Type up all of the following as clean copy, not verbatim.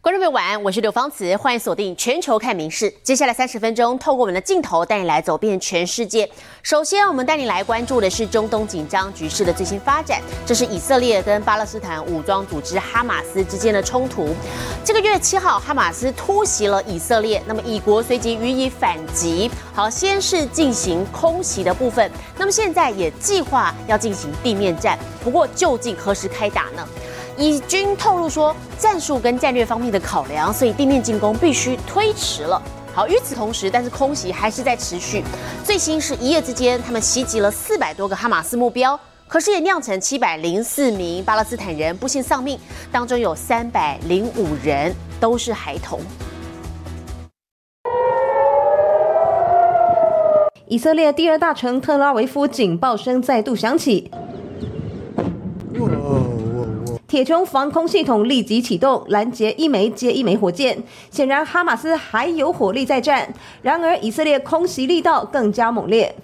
观众朋友晚安，我是刘芳慈，欢迎锁定全球看民事。接下来30分钟，透过我们的镜头带你来走遍全世界。首先，我们带你来关注的是中东紧张局势的最新发展。这是以色列跟巴勒斯坦武装组织哈马斯之间的冲突。这个月7号，哈马斯突袭了以色列，那么以国随即予以反击。好，先是进行空袭的部分，那么现在也计划要进行地面战。不过，究竟何时开打呢？以军透露说，战术跟战略方面的考量，所以地面进攻必须推迟了。好，与此同时，但是空袭还是在持续。最新是一夜之间，他们袭击了400多个哈马斯目标，可是也酿成704名巴勒斯坦人不幸丧命，当中有305人都是孩童。 以色列第二大城特拉维夫警报声再度响起。铁穹防空系统立即启动，拦截一枚接一枚火箭。显然，哈马斯还有火力在战。然而，以色列空袭力道更加猛烈。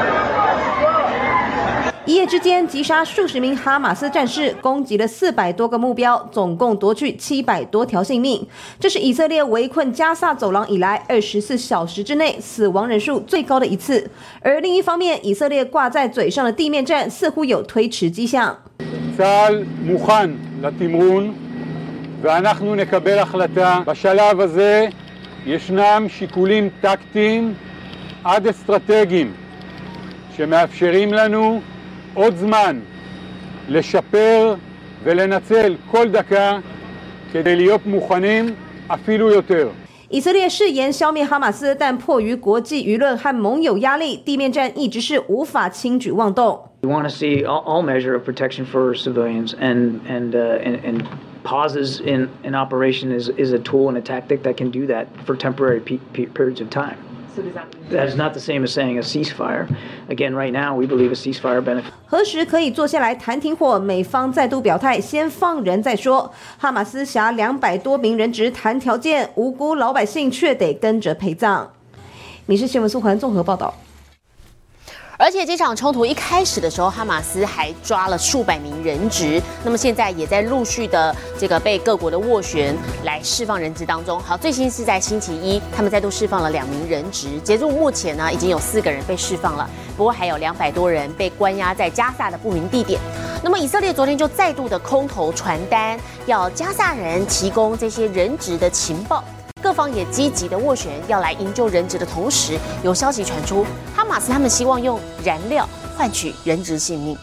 一夜之间击杀数十名哈马斯战士，攻击了400多个目标，总共夺去700多条性命。这是以色列围困加萨走廊以来24小时之内死亡人数最高的一次。而另一方面，以色列挂在嘴上的地面战似乎有推迟迹象。 צה"ל מוכן לתמרון ואנחנו נקבל החלטה. בשלב הזה ישנם שיקולים טקטיים עד אסטרטגיים שמאפשרים לנו עוד זמן לשפר ולנצל כל דקה כדי להיות מוכנים אפילו יותר. 以色列誓言消灭哈马斯，但迫于国际舆论和盟友压力，地面战一直是无法轻举妄动。 We want to see all measure of protection for civilians, and pauses in operation is a tool and a tactic that can do that for temporary periods of time. So does that mean that is not the same as saying a ceasefire? Again, right now we believe a ceasefire benefits. 何时可以坐下来谈停火？美方再度表态，先放人再说。哈马斯挟200多名人质谈条件，无辜老百姓却得跟着陪葬。民事新闻苏环综合报道。 而且这场冲突一开始的时候，哈马斯还抓了数百名人质，那么现在也在陆续的这个被各国的斡旋来释放人质当中。好，最新是在星期一，他们再度释放了2名人质，截至目前呢，已经有4个人被释放了，不过还有200多人被关押在加萨的不明地点。那么以色列昨天就再度的空投传单，要加萨人提供这些人质的情报。各方也积极的斡旋，要来营救人质的同时，有消息传出，哈马斯他们希望用燃料换取人质性命。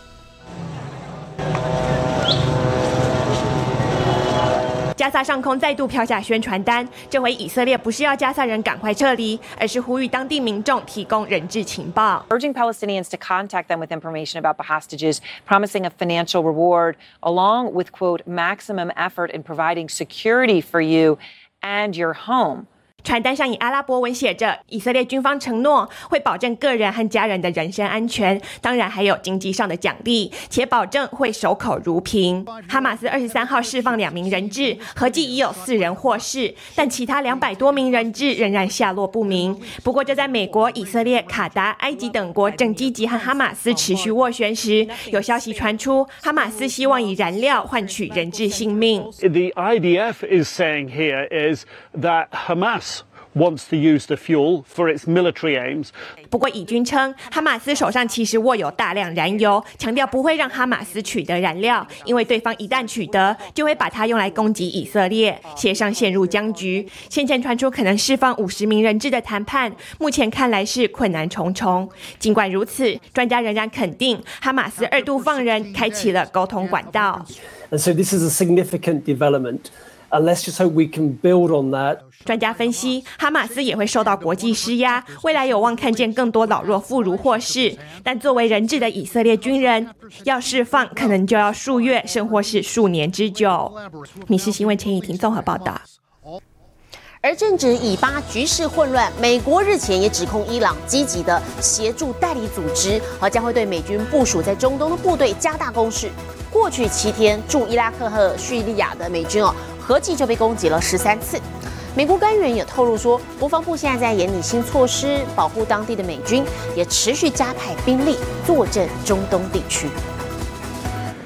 加萨上空再度飘下宣传单，这回以色列不是要加萨人赶快撤离，而是呼吁当地民众提供人质情报， urging Palestinians to contact them with information about the hostages, promising a financial reward, along with, quote, maximum effort in providing security for you and your home. 传单上以阿拉伯文写着，以色列军方承诺会保证个人和家人的人身安全，当然还有经济上的奖励，且保证会守口如瓶。哈马斯23号释放2名人质，合计已有4人获释，但其他200多名人质仍然下落不明。不过，这在美国、以色列、卡达、埃及等国正积极和哈马斯持续斡旋时，有消息传出，哈马斯希望以燃料换取人质性命。 The IDF is saying here is that Hamas wants to use the fuel for its military aims. 不过以军称，哈马斯手上其实握有大量燃油，强调不会让哈马斯取得燃料，因为对方一旦取得，就会把它用来攻击以色列，协商陷入僵局。先前传出可能释放50名人质的谈判，目前看来是困难重重。尽管如此，专家仍然肯定，哈马斯2度放人，开启了沟通管道。 And so this is a significant development. And let's just hope we can build on that. 专家分析，哈马斯也会受到国际施压，未来有望看见更多老弱妇孺获释。但作为人质的以色列军人要释放，可能就要数月，甚或是数年之久。民事新闻陈以婷综合报道。 而正值以巴局势混乱，美国日前也指控伊朗积极的协助代理组织，将会对美军部署在中东的部队加大攻势。过去7天，驻伊拉克和叙利亚的美军合计就被攻击了13次。美国官员也透露说，国防部现在在研拟新措施，保护当地的美军，也持续加派兵力坐镇中东地区。 以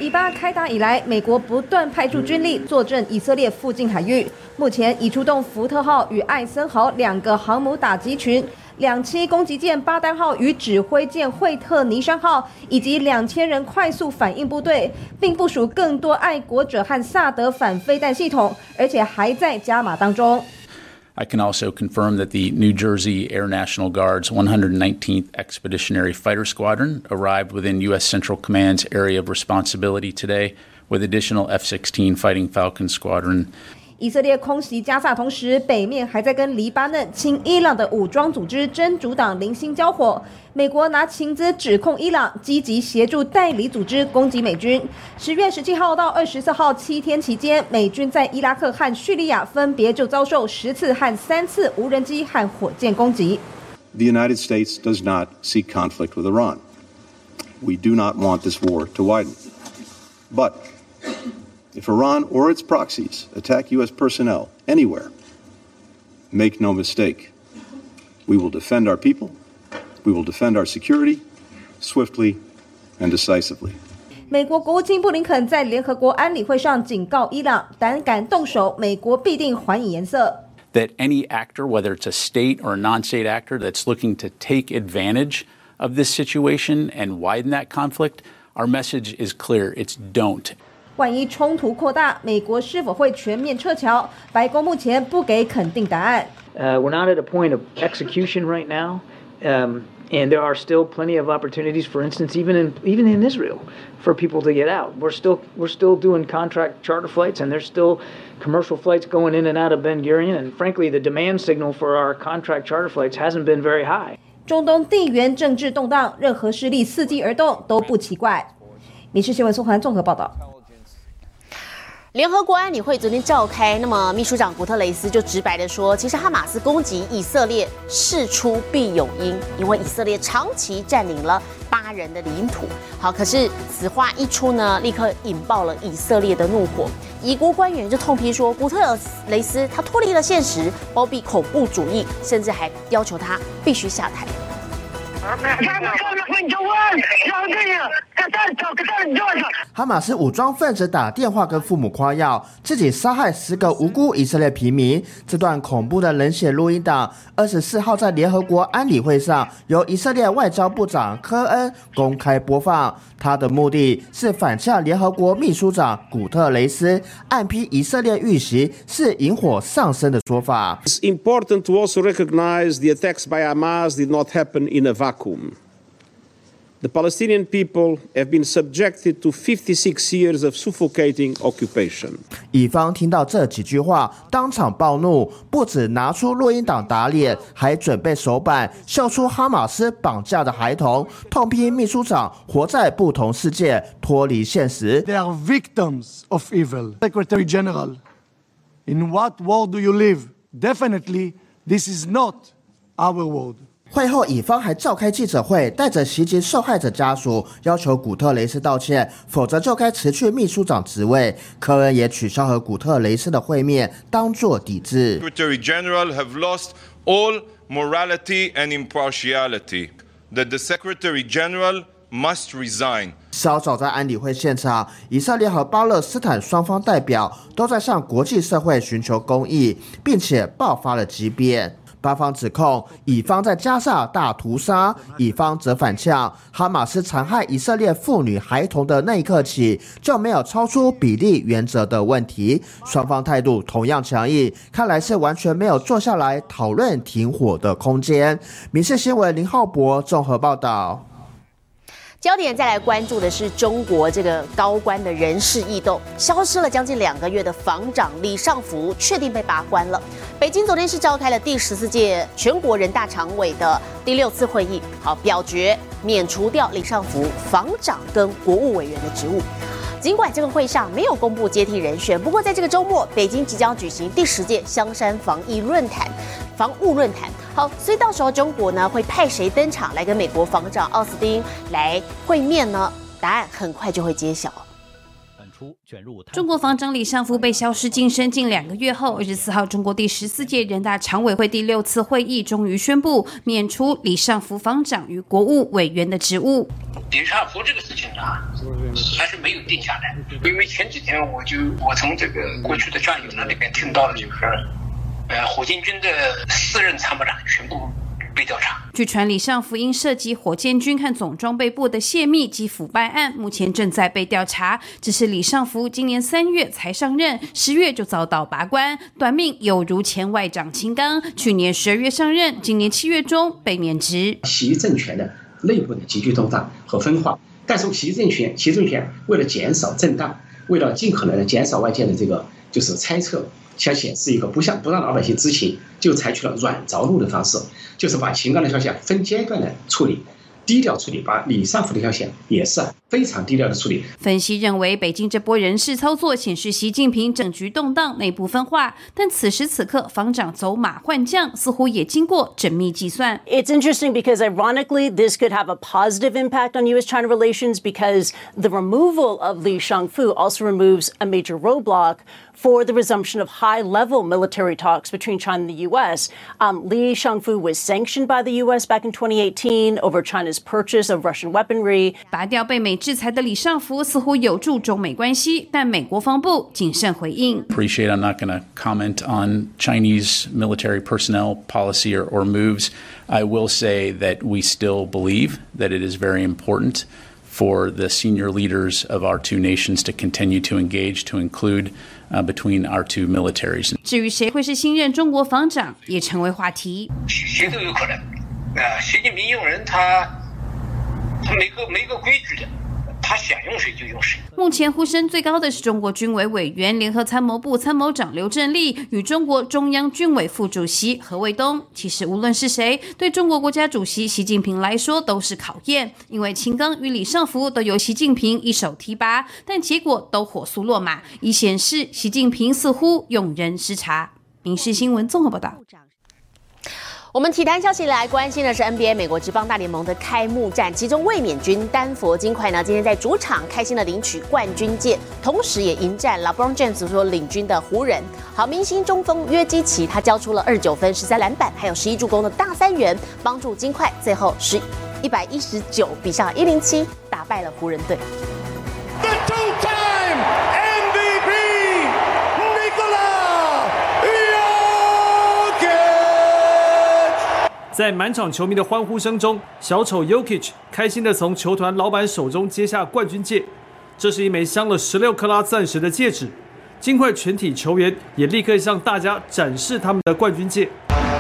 以巴开打以来，美国不断派出军力坐镇以色列附近海域，目前已出动福特号与艾森豪2个航母打击群。2栖攻击舰巴丹号与指挥舰惠特尼山号，以及2000人快速反应部队，并部署更多爱国者和萨德反飞弹系统，而且还在加码当中。 I can also confirm that the New Jersey Air National Guard's 119th Expeditionary Fighter Squadron arrived within U.S. Central Command's area of responsibility today, with additional F-16 Fighting Falcon Squadron. 以色列空袭加萨，同时北面还在跟黎巴嫩亲伊朗的武装组织真主党零星交火。美国拿情资指控伊朗积极协助代理组织攻击美军。10月17号到24号7天期间，美军在伊拉克和叙利亚分别就遭受10次和3次无人机和火箭攻击。 The United States does not seek conflict with Iran. We do not want this war to widen. But if Iran or its proxies attack U.S. personnel anywhere, make no mistake, we will defend our people, we will defend our security, swiftly and decisively. 美国国务卿布林肯在联合国安理会上警告伊朗，胆敢动手，美国必定还以颜色。 That any actor, whether it's a state or a non-state actor that's looking to take advantage of this situation and widen that conflict, our message is clear, it's don't. 万一冲突扩大，美国是否会全面撤侨？白宫目前不给肯定答案。 We're not at a point of execution right now, and there are still plenty of opportunities. For instance, even in Israel, for people to get out. We're still doing contract charter flights, and there's still commercial flights going in and out of Ben Gurion. And frankly, the demand signal for our contract charter flights hasn't been very high. 中东地缘政治动荡，任何势力伺机而动都不奇怪。民事新闻宋涵综合报道。 联合国安理会昨天召开，那么秘书长古特雷斯就直白的说，其实哈马斯攻击以色列事出必有因，因为以色列长期占领了巴人的领土。好，可是此话一出呢，立刻引爆了以色列的怒火。疑国官员就痛批说，古特雷斯他脱离了现实，包庇恐怖主义，甚至还要求他必须下台。 哈马斯武装分子打电话跟父母夸耀自己杀害10个无辜以色列平民，这段恐怖的冷血录音档24号在联合国安理会上由以色列外交部长科恩公开播放，他的目的是反呛联合国秘书长古特雷斯暗批以色列遇袭是引火上身的说法。 It's important to also recognize the attacks by Hamas did not happen in a vacuum. The Palestinian people have been subjected to 56 years of suffocating occupation. 以方听到这几句话，当场暴怒，不止拿出录音档打脸，还准备手板秀出哈马斯绑架的孩童，痛批秘书长活在不同世界，脱离现实。 They are victims of evil. Secretary General, in what world do you live? Definitely, this is not our world. 会后，以方还召开记者会，带着袭击受害者家属，要求古特雷斯道歉，否则就该辞去秘书长职位。科恩也取消和古特雷斯的会面，当作抵制。 Secretary General have lost all morality and impartiality. That the Secretary General must resign. 稍早在安理会现场，以色列和巴勒斯坦双方代表都在向国际社会寻求公义，并且爆发了激辩。 巴方指控以方在加萨大屠杀，以方则反呛哈马斯残害以色列妇女孩童的那一刻起，就没有超出比例原则的问题。双方态度同样强硬，看来是完全没有坐下来讨论停火的空间。民视新闻林浩博综合报道。 焦点再来关注的是中国这个高官的人事异动，消失了将近2个月的防长李尚福确定被罢官了。北京昨天是召开了第14届全国人大常委的第6次会议，好表决免除掉李尚福防长跟国务委员的职务。 尽管这个会上没有公布接替人选，不过在这个周末，北京即将举行第10届香山防务论坛。好，所以到时候中国呢会派谁登场来跟美国防长奥斯汀来会面呢？答案很快就会揭晓。 本中国防长李尚福被消失晋升近2个月后，24号，中国第14届人大常委会第6次会议终于宣布免除李尚福防长与国务委员的职务。 李尚福这个事情呢，还是没有定下来，因为前几天我从这个过去的战友那里边听到了，就是火箭军的4任参谋长全部被调查。 据传，李尚福因涉及火箭军和总装备部的泄密及腐败案，目前正在被调查。只是李尚福今年3月才上任，10月就遭到拔关，短命有如前外长秦刚，去年12月上任，今年7月中被免职。 习政权的内部的急剧动荡和分化，但是习政权为了减少震荡，为了尽可能的减少外界的这个就是猜测，想显示一个不让老百姓知情，就采取了软着陆的方式，就是把秦刚的消息分阶段的处理，低调处理，把李尚福的消息也是非常低调的处理。 分析认为，北京这波人事操作显示习近平政局动荡，内部分化，但此时此刻防长走马换将，似乎也经过缜密计算。 It's interesting because ironically this could have a positive impact on U.S.-China relations because the removal of Li Shangfu also removes a major roadblock for the resumption of high-level military talks between China and the U.S. Li Shangfu was sanctioned by the U.S. back in 2018 over China's purchase of Russian weaponry. 拔掉被美制裁的李尚福似乎有助中美关系，但美国防部谨慎回应。 Appreciate I'm not going to comment on Chinese military personnel policy or moves. I will say that we still believe that it is very important for the senior leaders of our two nations to continue to engage, to include between our two militaries. 至于谁会是新任中国防长，也成为话题。 谁都有可能。习近平用人他没个规矩的，他想用谁就用谁。 目前呼声最高的是中国军委委员、联合参谋部参谋长刘振立与中国中央军委副主席何卫东。其实无论是谁，对中国国家主席习近平来说都是考验，因为秦刚与李尚福都由习近平一手提拔，但结果都火速落马，以显示习近平似乎用人失察。民视新闻综合报道。 我们体坛消息来关心的是 NBA 美国职棒大联盟的开幕战，其中卫冕军丹佛金块呢，今天在主场开心的领取冠军戒，同时也迎战 LeBron James 所领军的湖人。好，明星中锋约基奇他交出了29分、13篮板，还有11助攻的大三元，帮助金块最后是119比上107打败了湖人队。 The two-time MVP Nikola 在满场球迷的欢呼声中，小丑 Jokic 开心地从球团老板手中接下冠军戒。这是一枚镶了16克拉钻石的戒指。金块全体球员也立刻向大家展示他们的冠军戒。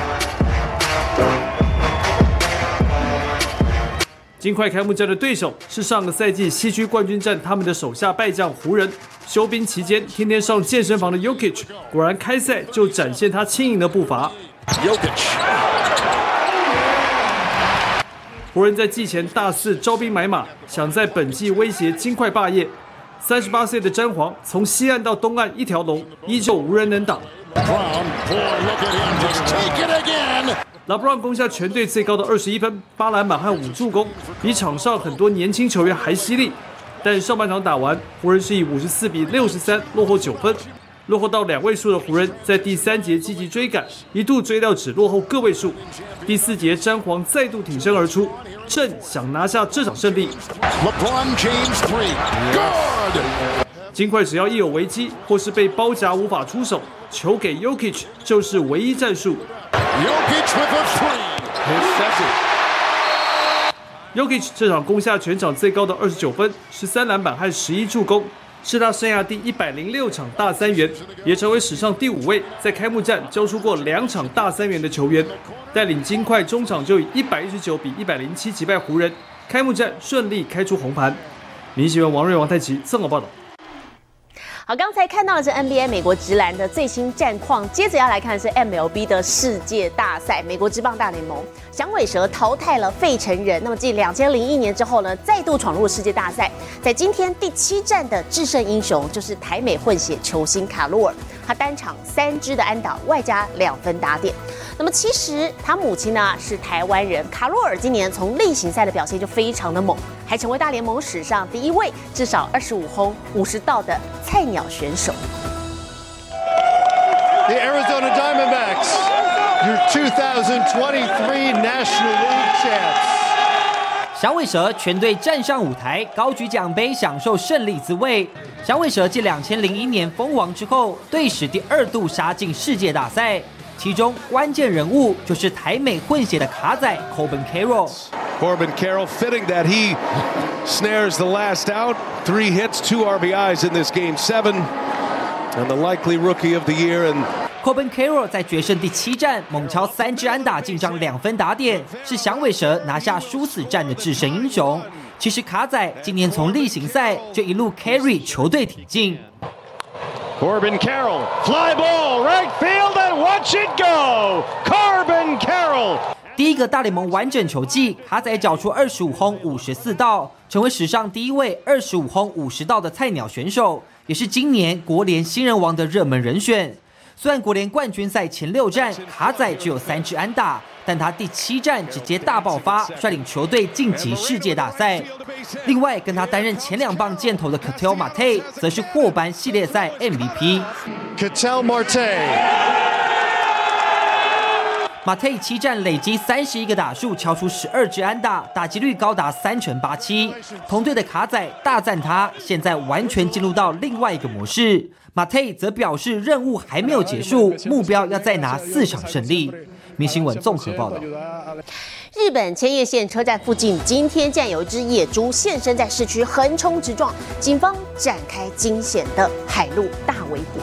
金块开幕战的对手是上个赛季西区冠军战他们的手下败将湖人。休兵期间天天上健身房的 Jokic 果然开赛就展现他轻盈的步伐。湖人在季前大肆招兵买马，想在本季威胁金块霸业。38岁的詹皇从西岸到东岸一条龙，依旧无人能挡。LeBron 攻下全队最高的21分、8篮板和5助攻，比场上很多年轻球员还犀利。但上半场打完，湖人是以54比63落后9分。落后到2位数的湖人，在第3节积极追赶，一度追到只落后个位数。第4节，詹皇再度挺身而出，正想拿下这场胜利。金块只要一有危机，或是被包夹无法出手，球给 Jokic 就是唯一战术。Jokic 这场攻下全场最高的29分、13篮板和11助攻。是他生涯第106场大三元，也成为史上第5位在开幕战交出过2场大三元的球员。带领金块中场就以119比107击败湖人，开幕战顺利开出红盘。民新闻王瑞、王太奇综合报道。 好，刚才看到的是 NBA 美国职篮的最新战况，接着要来看的是 MLB 的世界大赛，美国职棒大联盟响尾蛇淘汰了费城人，那么继2001年之后呢，再度闯入世界大赛。在今天第7战的制胜英雄就是台美混血球星卡洛尔，他单场3支的安打，外加2分打点。那么其实他母亲呢是台湾人，卡洛尔今年从例行赛的表现就非常的猛， 还成为大联盟史上第一位至少25轰50盗的菜鸟选手。 The Arizona Diamondbacks, your 2023 National League champs. 响尾蛇全队站上舞台，高举奖杯，享受胜利滋味。响尾蛇继2001年封王之后，队史第2度杀进世界大赛，其中关键人物就是台美混血的卡仔 Corbin Carroll。Corbin Carroll fitting that he snares the last out. 3 hits, 2 RBIs in this game 7, and the likely rookie of the year. And Corbin Carroll 在决胜第7战猛敲3支安打，进账2分打点，是响尾蛇拿下殊死战的制胜英雄。其实卡仔今年从例行赛就一路 carry 球队挺进。 Corbin Carroll, fly ball, right field, and watch it go. Corbin Carroll. 第一个大联盟完整球季，卡仔缴出25轰54盗，成为史上第一位25轰50盗的菜鸟选手，也是今年国联新人王的热门人选。虽然国联冠军赛前6战卡仔只有3支安打，但他第7战直接大爆发，率领球队晋级世界大赛。另外，跟他担任前2棒箭头的 Ketel Marte 则是获颁系列赛 MVP。Ketel Marte。Marte 7战累积31个打数，敲出12支安打，打击率高达3.87%。同队的卡仔大赞他，现在完全进入到另外一个模式。Marte 则表示任务还没有结束，目标要再拿4场胜利。民新闻综合报道。 日本千叶县车站附近，今天竟然有一只野猪现身在市区，横冲直撞，警方展开惊险的海陆大围捕。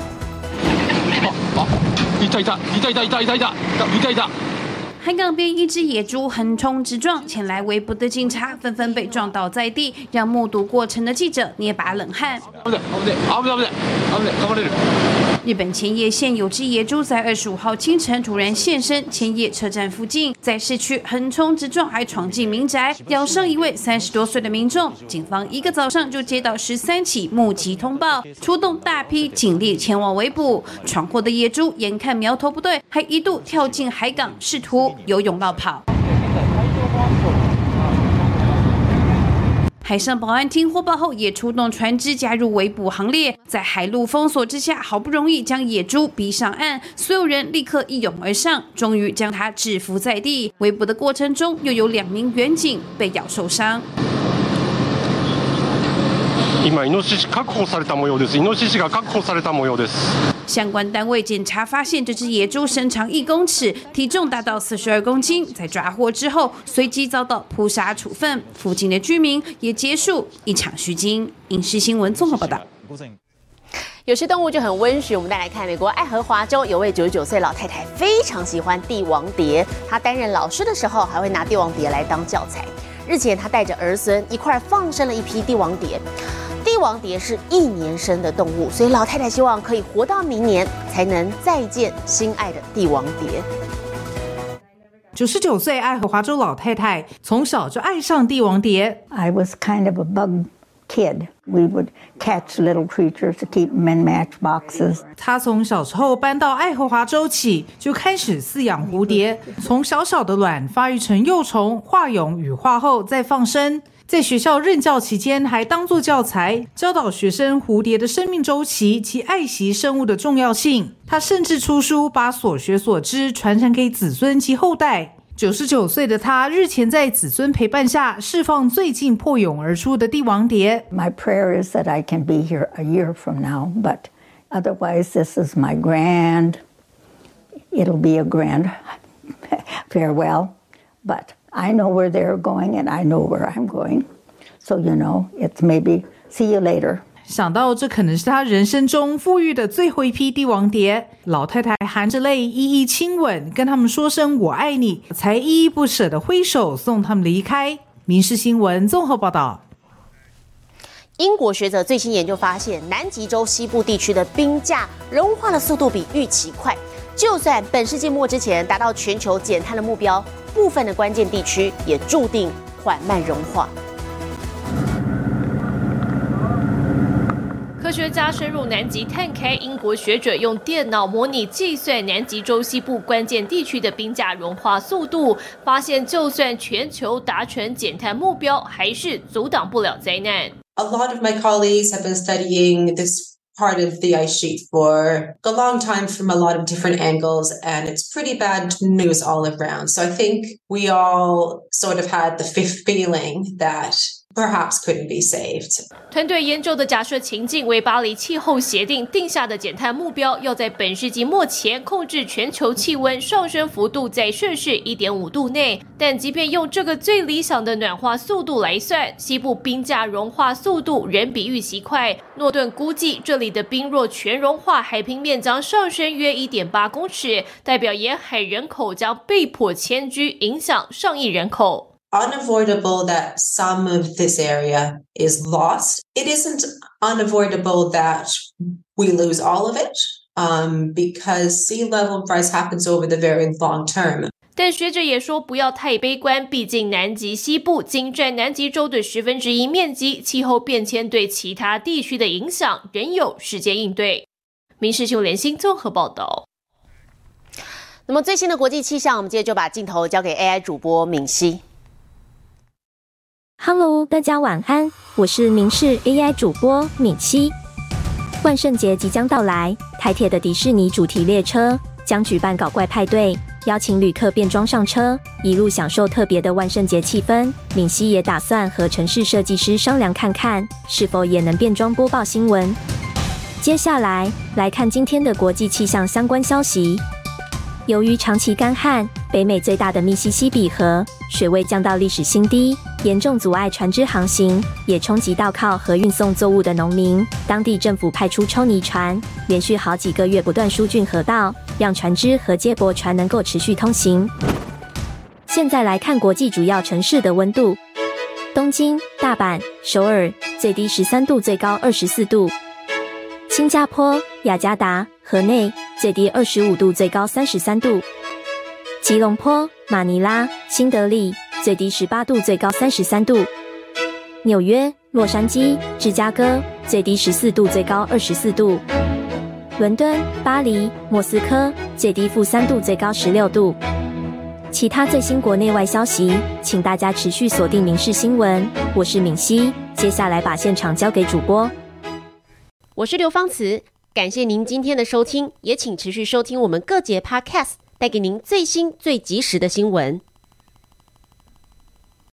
海港边一只野猪横冲直撞，前来围捕的警察纷纷被撞倒在地，让目睹过程的记者捏把冷汗。日本千叶县有只野猪在25号清晨突然现身千叶车站附近，在市区横冲直撞，还闯进民宅，咬伤一位30多岁的民众。警方一个早上就接到13起目击通报，出动大批警力前往围捕。闯祸的野猪眼看苗头不对，还一度跳进海港，试图游泳绕跑。海上保安厅获报后也出动船只加入围捕行列，在海陆封锁之下，好不容易将野猪逼上岸，所有人立刻一涌而上，终于将它制服在地。围捕的过程中，又有2名员警被咬受伤。相关单位检查发现，这只野猪身长1公尺，体重达到42公斤。在抓获之后，随即遭到扑杀处分。附近的居民也结束一场虚惊。影视新闻综合报道。 有些动物就很温驯，我们再来看美国爱荷华州有位99岁老太太非常喜欢帝王蝶，她担任老师的时候还会拿帝王蝶来当教材。日前，她带着儿孙一块放生了一批帝王蝶。帝王蝶是1年生的动物，所以老太太希望可以活到明年才能再见心爱的帝王蝶。 99岁爱荷华州老太太从小就爱上帝王蝶。 I was kind of a bug kid. We would catch little creatures to keep them in matchboxes. 她从小时候搬到爱荷华州起，就开始饲养蝴蝶，从小小的卵发育成幼虫，化蛹羽化后再放生。在学校任教期间，还当作教材，教导学生蝴蝶的生命周期及爱惜生物的重要性。他甚至出书，把所学所知传承给子孙及后代。99岁的他日前在子孙陪伴下释放最近破蛹而出的帝王蝶。 My prayer is that I can be here a year from now, but otherwise this is my it'll be a grand farewell, but I know where they're going and I know where I'm going. So, it's maybe see you later. 想到这可能是他人生中富裕的最后一批帝王蝶，老太太含着泪一一亲吻，跟他们说声我爱你，才依依不舍地挥手送他们离开。民视新闻综合报道。 英国学者最新研究发现，南极洲西部地区的冰架融化的速度比预期快，就算本世纪末之前达到全球减碳的目标，部分的关键地区也注定缓慢融化。 科学家深入南极探勘，英国学者用电脑模拟计算南极洲西部关键地区的冰架融化速度，发现就算全球达成减碳目标，还是阻挡不了灾难。 A lot of my colleagues have been studying this part of the ice sheet for a long time from a lot of different angles, and it's pretty bad news all around. So I think we all sort of had the feeling that perhaps couldn't be saved. 团队研究的假设情境为巴黎气候协定定下的减碳目标，要在本世纪末前控制全球气温上升幅度在摄氏 1.5 度内。但即便用这个最理想的暖化速度来算，西部冰架融化速度仍比预期快。诺顿估计，这里的冰若全融化，海平面将上升约 1.8 公尺，代表沿海人口将被迫迁居，影响上亿人口。 Unavoidable that some of this area is lost. It isn't unavoidable that we lose all of it, because sea level rise happens over the very long term. 但学者也说不要太悲观，毕竟南极西部仅占南极洲的1/10面积，气候变迁对其他地区的影响仍有时间应对。民视新闻联新综合报道。 那么最新的国际气象，我们接着就把镜头交给 AI 主播敏熙。 Hello， 大家晚安，我是民视 AI 主播敏熙。万圣节即将到来，台铁的迪士尼主题列车将举办搞怪派对，邀请旅客变装上车，一路享受特别的万圣节气氛。敏熙也打算和城市设计师商量看看，是否也能变装播报新闻。接下来来看今天的国际气象相关消息。由于长期干旱，北美最大的密西西比河水位降到历史新低，严重阻碍船只航行，也冲击到靠河运送作物的农民。当地政府派出抽泥船，连续好几个月不断疏浚河道，让船只和接驳船能够持续通行。现在来看国际主要城市的温度：东京、大阪、首尔，最低13度，最高24度；新加坡、雅加达、河内，最低25度，最高33度；吉隆坡、马尼拉、新德里，最低18度，最高33度；纽约、洛杉矶、芝加哥，最低14度，最高24度；伦敦、巴黎、莫斯科，最低-3度，最高16度。其他最新国内外消息，请大家持续锁定民视新闻。我是敏熙，接下来把现场交给主播。 我是刘芳慈，感谢您今天的收听，也请持续收听我们各节 Podcast， 带给您最新最及时的新闻。